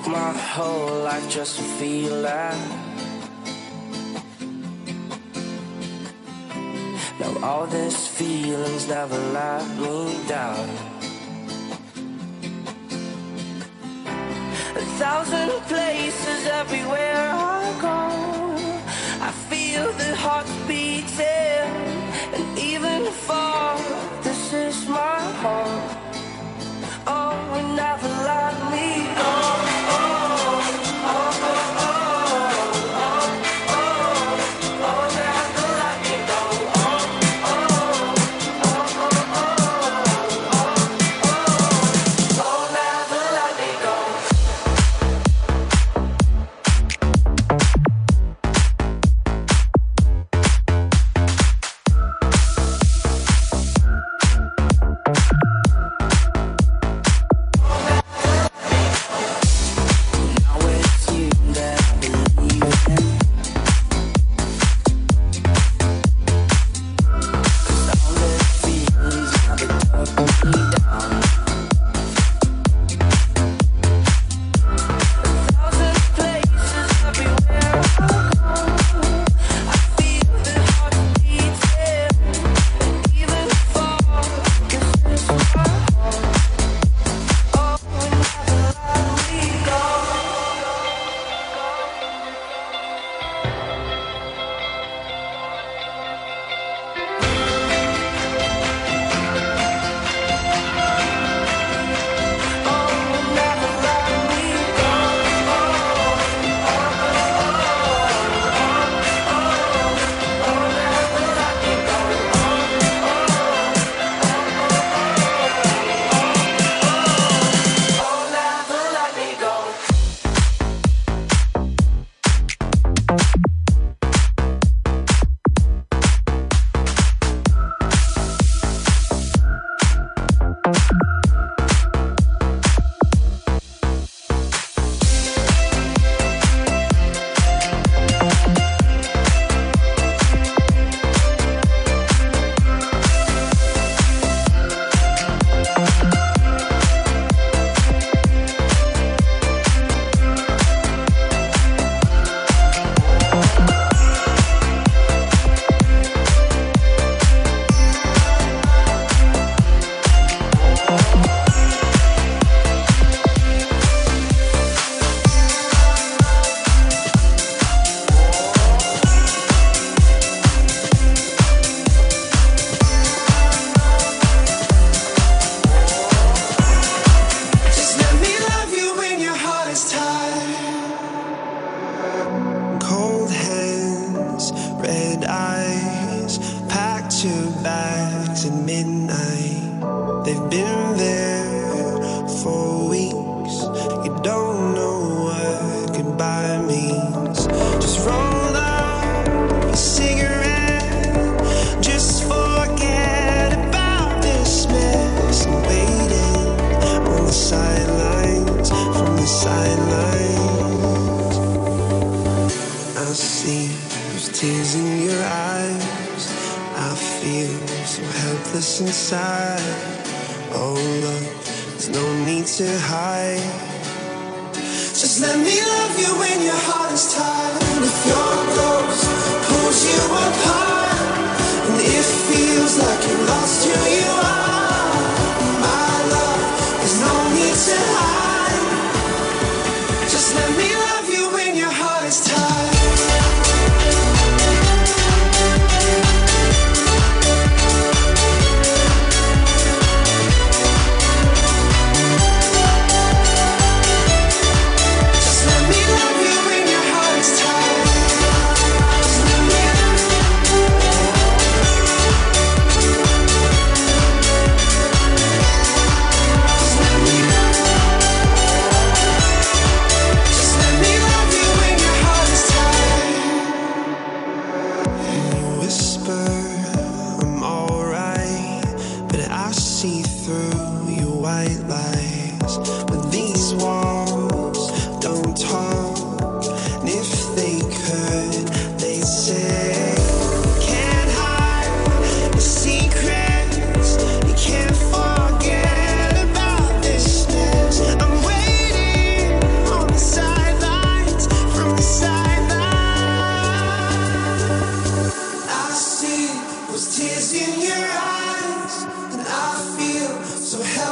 my whole life just to feel that. Now all these feelings never let me down. 1,000 places everywhere I go, I feel the heart beating. And even far, this is my home. Oh, and never let me go.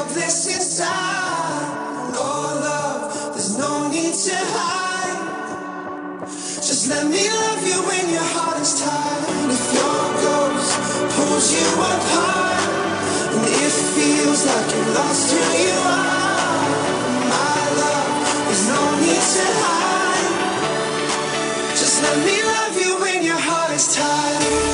this inside. Oh love, there's no need to hide. Just let me love you when your heart is tired. If your ghost pulls you apart, and it feels like you're lost who you are, my love, there's no need to hide. Just let me love you when your heart is tired.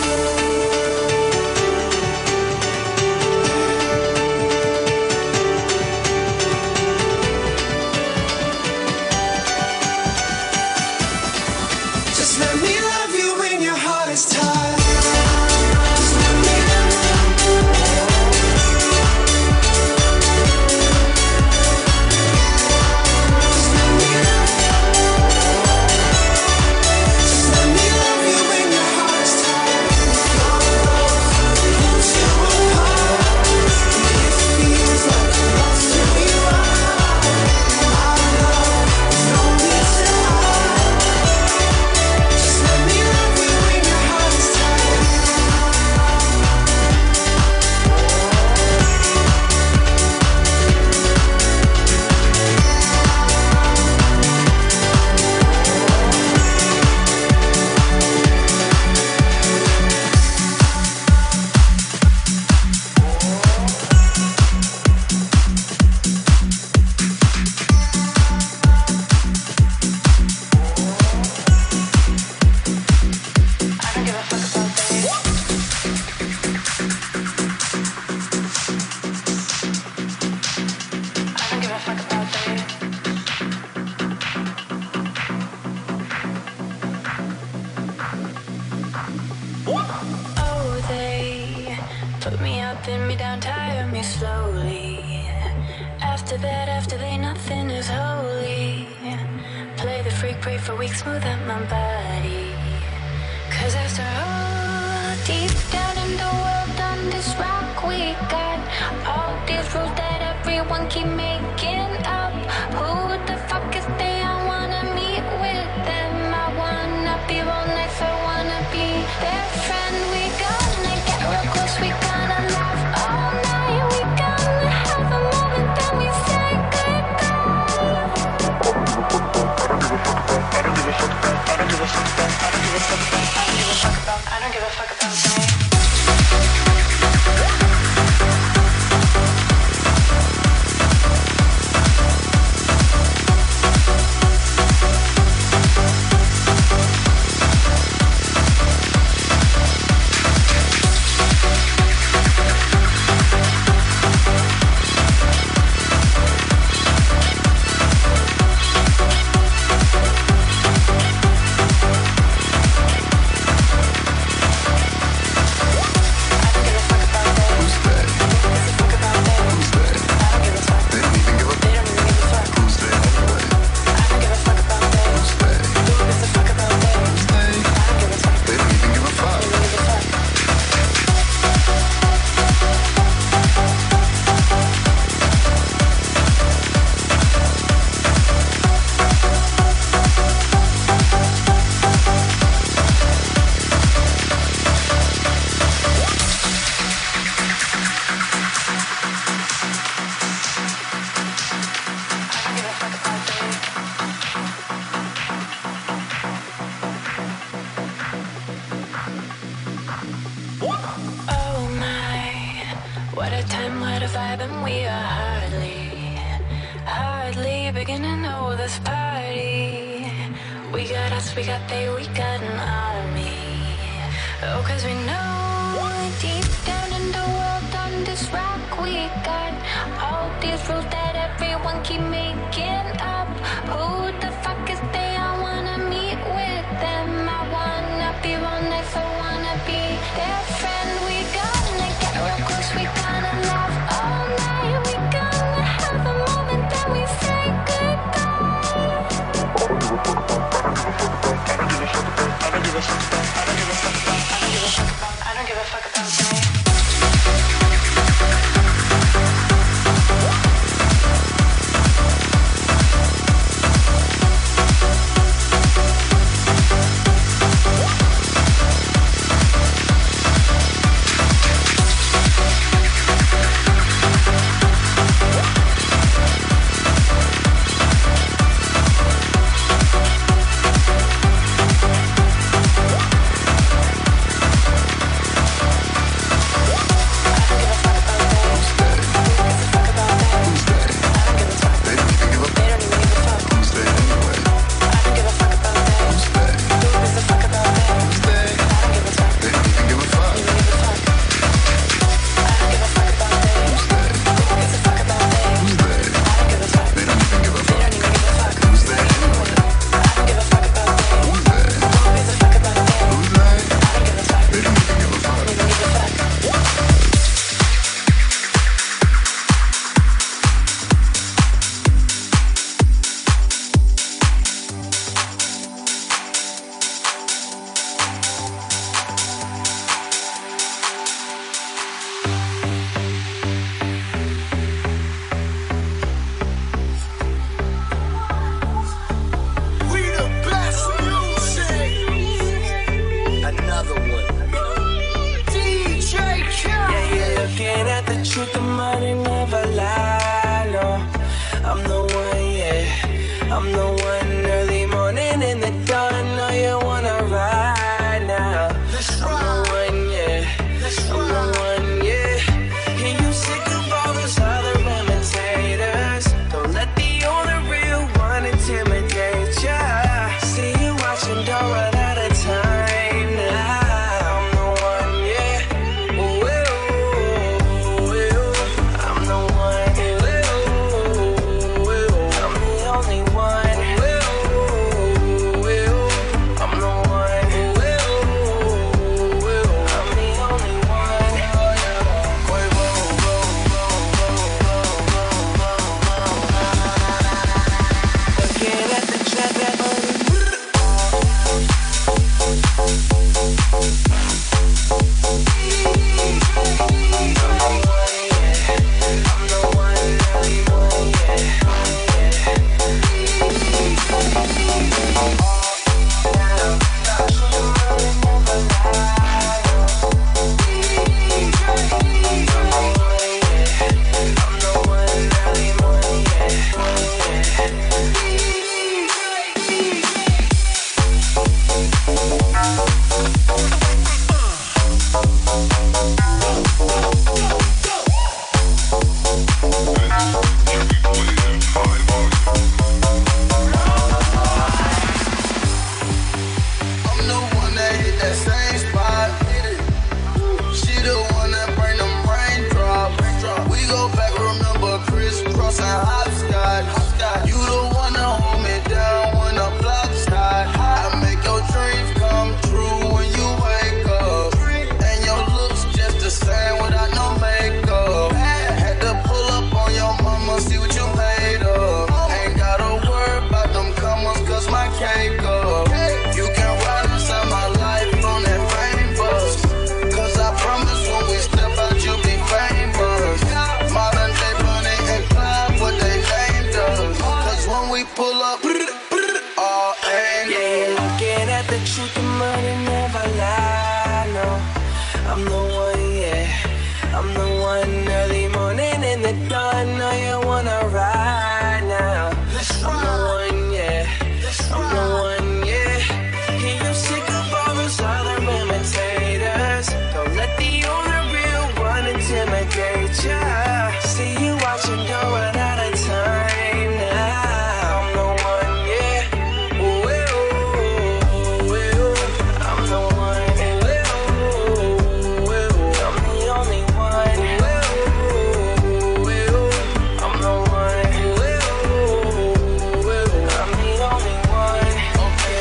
that hopscotch. You the one to hold me down when the block's hot. I make your dreams come true when you wake up, and your looks just the same without no makeup. Had to pull up on your mama, see what you made of. Ain't gotta worry about them comers, cause my cake up. You can ride inside my life on that fame bus, cause I promise when we step out you'll be famous. Modern day Bonnie and Clyde, what they named us, cause when we pull up, all aim. Yeah, you're looking at the truth, the money never lie, no. I'm the one, yeah, I'm the one. Early morning in the dawn, know you wanna ride now. I'm the one, yeah, I'm the one, yeah. Hear you sick of all those other imitators. Don't let the only real one intimidate ya. See you watching, don't run out of time now. I'm the one, yeah. Ooh, ooh, ooh. I'm the one, ooh, ooh, ooh. I'm the only one. Ooh, ooh. I'm the one. Ooh, ooh, ooh. I'm the only one. Okay,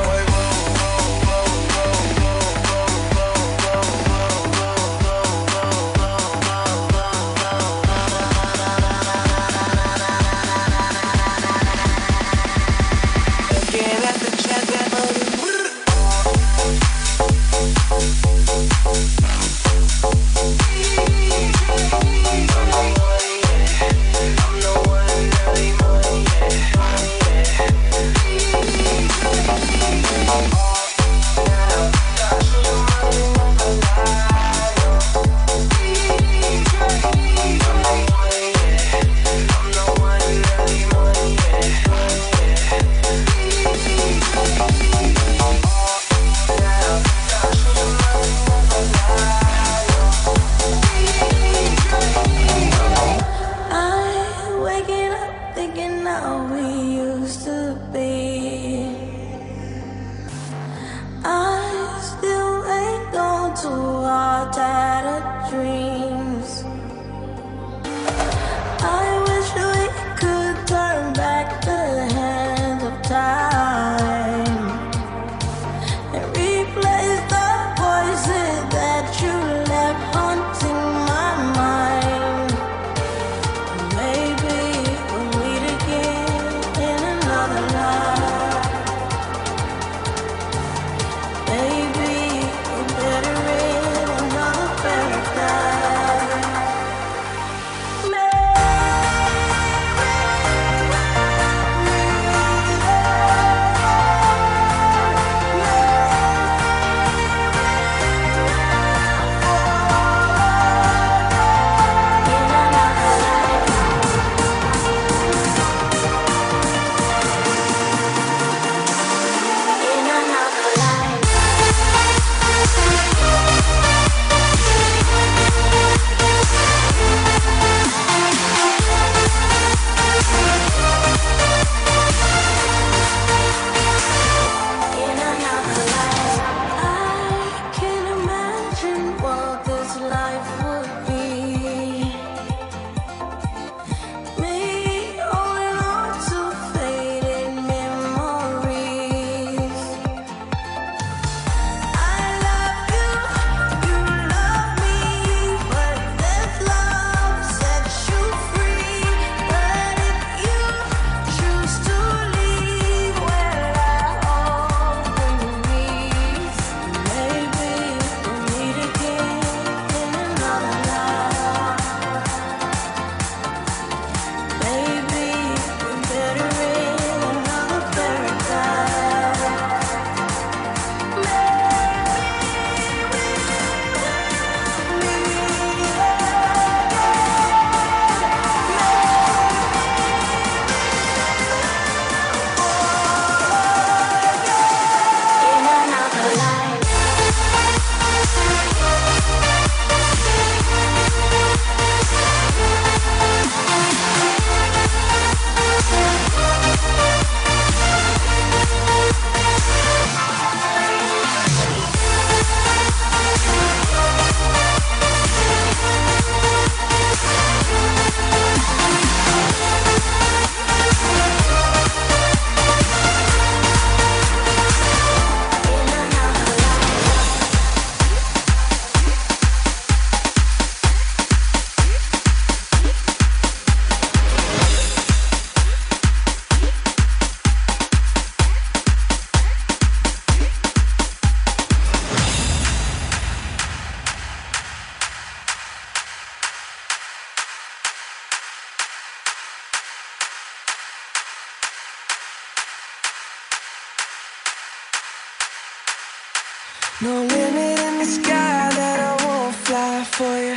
looking at the chat that I'm waking up thinking how we used to be. I still ain't gone to our tattered dreams. I wish we could turn back the hands of time and replace the voices that you left haunting my mind. Maybe we'll meet again in another life. Maybe we're better in another paradise. No limit in the sky that I won't fly for you.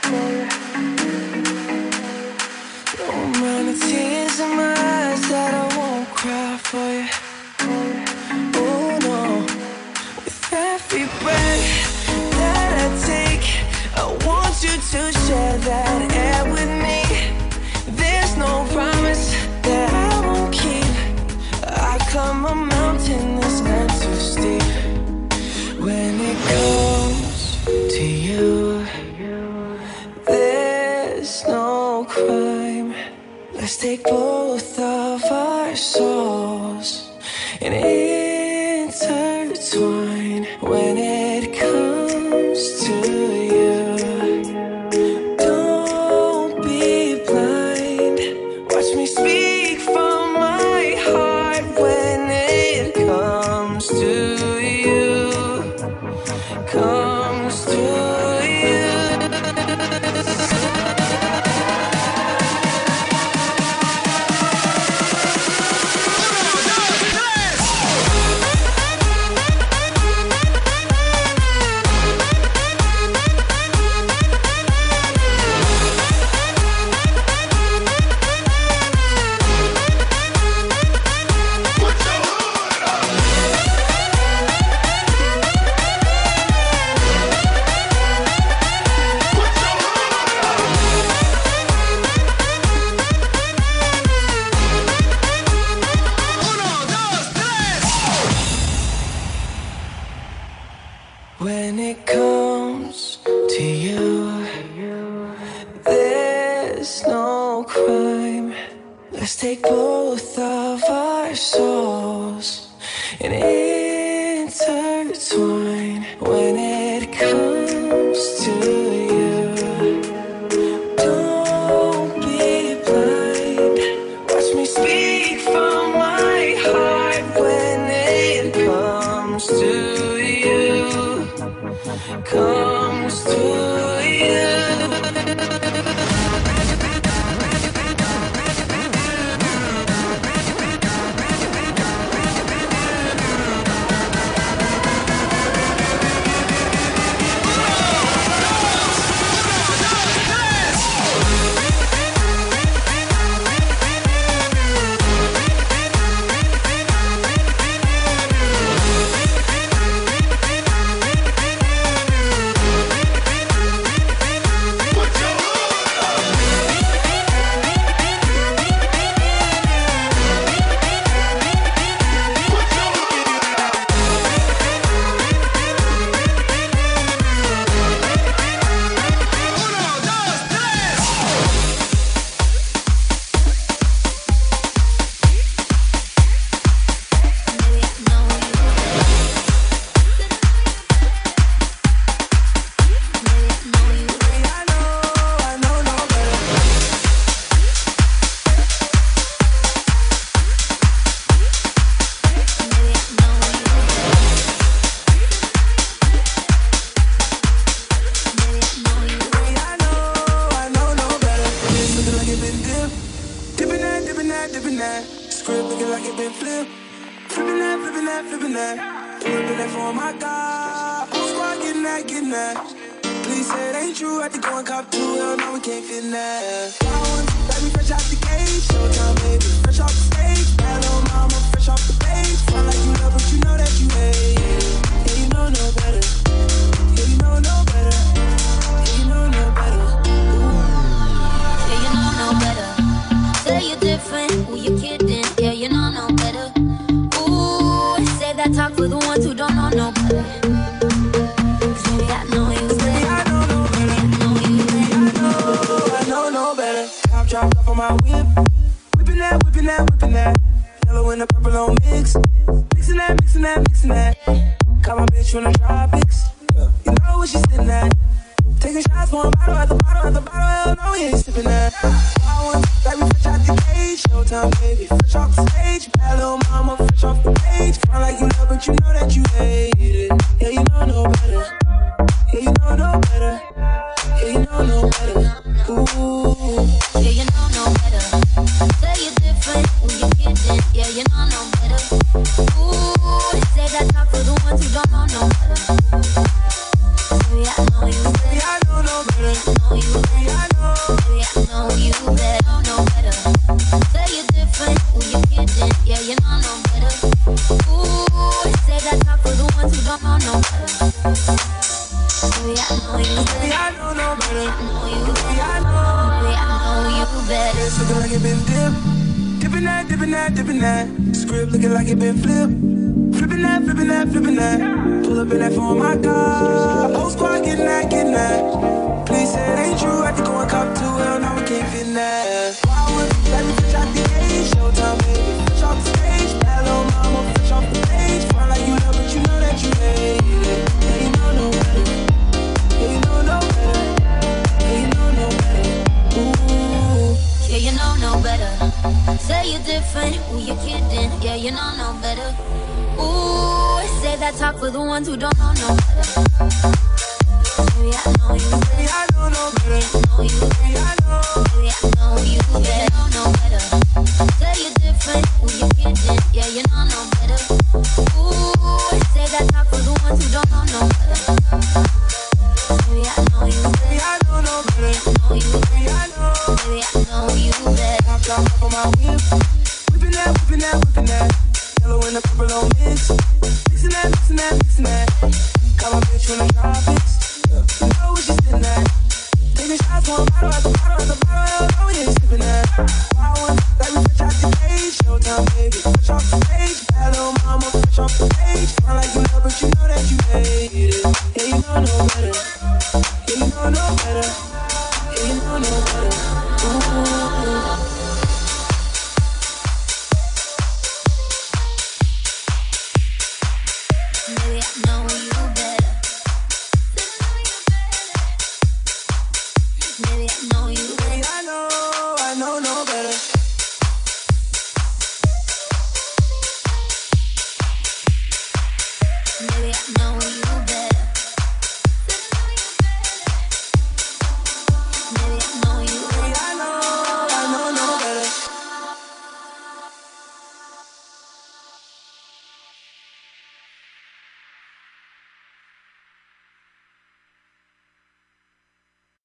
No amount of tears in my eyes that I won't cry for you. Oh no. With every breath that I take, I want you to share that air with me. There's no promise that I won't keep. I climb a mountain that's not too steep. When it comes to you, there's no crime. Let's take both of our souls and intertwine. When it comes to you, don't be blind. Watch me speak from my heart. When it comes to you, comes to you. When it comes to you, there's no crime. Let's take both of our souls and intertwine. When it comes to you, don't be blind. Watch me speak from my heart. When it comes to you, comes to you. Script looking like it been flipped. Flipping that, flipping that, flipping that. Flipping that for my God. Whole squad getting that, getting that. Please say it ain't true. Had to go and cop two. Hell no, we can't fit in that. Like me fresh out the gate. Showtime, baby. Fresh off the stage. Bad little mama, fresh off the page. Feel like you love, but you know that you hate. Yeah, you know no better. Yeah, you know no better. Yeah, you know no better. Yeah, you know no better. Say you're different. Who you kidding? Yeah, you know no better. Ooh, say that talk for the ones who don't know no better. 'Cause baby, I know you better. I know no better. I know you better. I know no better. Top dropped off on my whip. Whipping that, whipping that, whipping that. Yellow and the purple on mix. Mixing that, mixing that, mixing that. Got my bitch from the tropics. You know where she's sitting at. Taking shots, one bottle at the bottle at the bottle. Hell no, we ain't sipping that. I want like we fresh out the cage. Showtime, baby, fresh off the stage. Bad little mama, fresh off the page. Feel like you love, but you know that you hate it. Yeah, you know no better. Yeah, you know no better. Yeah, you know no better. Ooh. Yeah, you know no better. Say you're different. Who you kidding? Yeah, you know no better. Ooh, say that talk for the ones who don't know no better. you know no better. Ooh, say that talk for the ones who don't know no better. Baby, I know you better. Baby, I know no better. I know you better. Baby, I know. Baby, I know you better. It's looking like it been dipped. Dipping that, dipping that, dipping that. Script looking like it been flipped. Flipping that, flipping that, flipping that. Pull up in that phone, my God. Whole squad getting that, getting that. Please say it ain't true. I think going cop too well. Now we can't fit in that. Wow, let me fish out the age. Showtime, baby. Fish off the stage. Bad little mama, fish off the page. Front like you love, but you know that you hate it. Yeah, you know no better. Yeah, you know no better. Yeah, you know no better. Ooh. Yeah, you know no better. Say you're different, who you kidding? Yeah, you know no better. Ooh, say that talk for the ones who don't know no better. Baby, I know you better. Baby, I know no better. I know you better. Baby, I know. Baby, I know you better. You know no better. Say you're different, who you kidding? Yeah, you know no better. Ooh, say that talk for the ones who don't know no better. Baby, I know you better. Baby, I know no better. I know you better. Baby, I know. Baby, I know you better. Top on my whip. Whipping that, whipping that, whipping that. Yellow and a purple on mix. Mixing that, mixing that, mixing that. Got my bitch from the tropics. You know what she's in that. Taking shots one bottle at the bottle at the bottle. No, we ain't skipping that. Wild one, like we fresh out the cage. Showtime, baby. Fresh off the stage. Bad little mama, fresh off the page. Front like you love, but you know that you hate it. Yeah, you know no better. Yeah, you know no better. Yeah, you know no better. Ooh. Baby, I know you better. Baby, I know you better. Baby, I know no better. Baby, I know you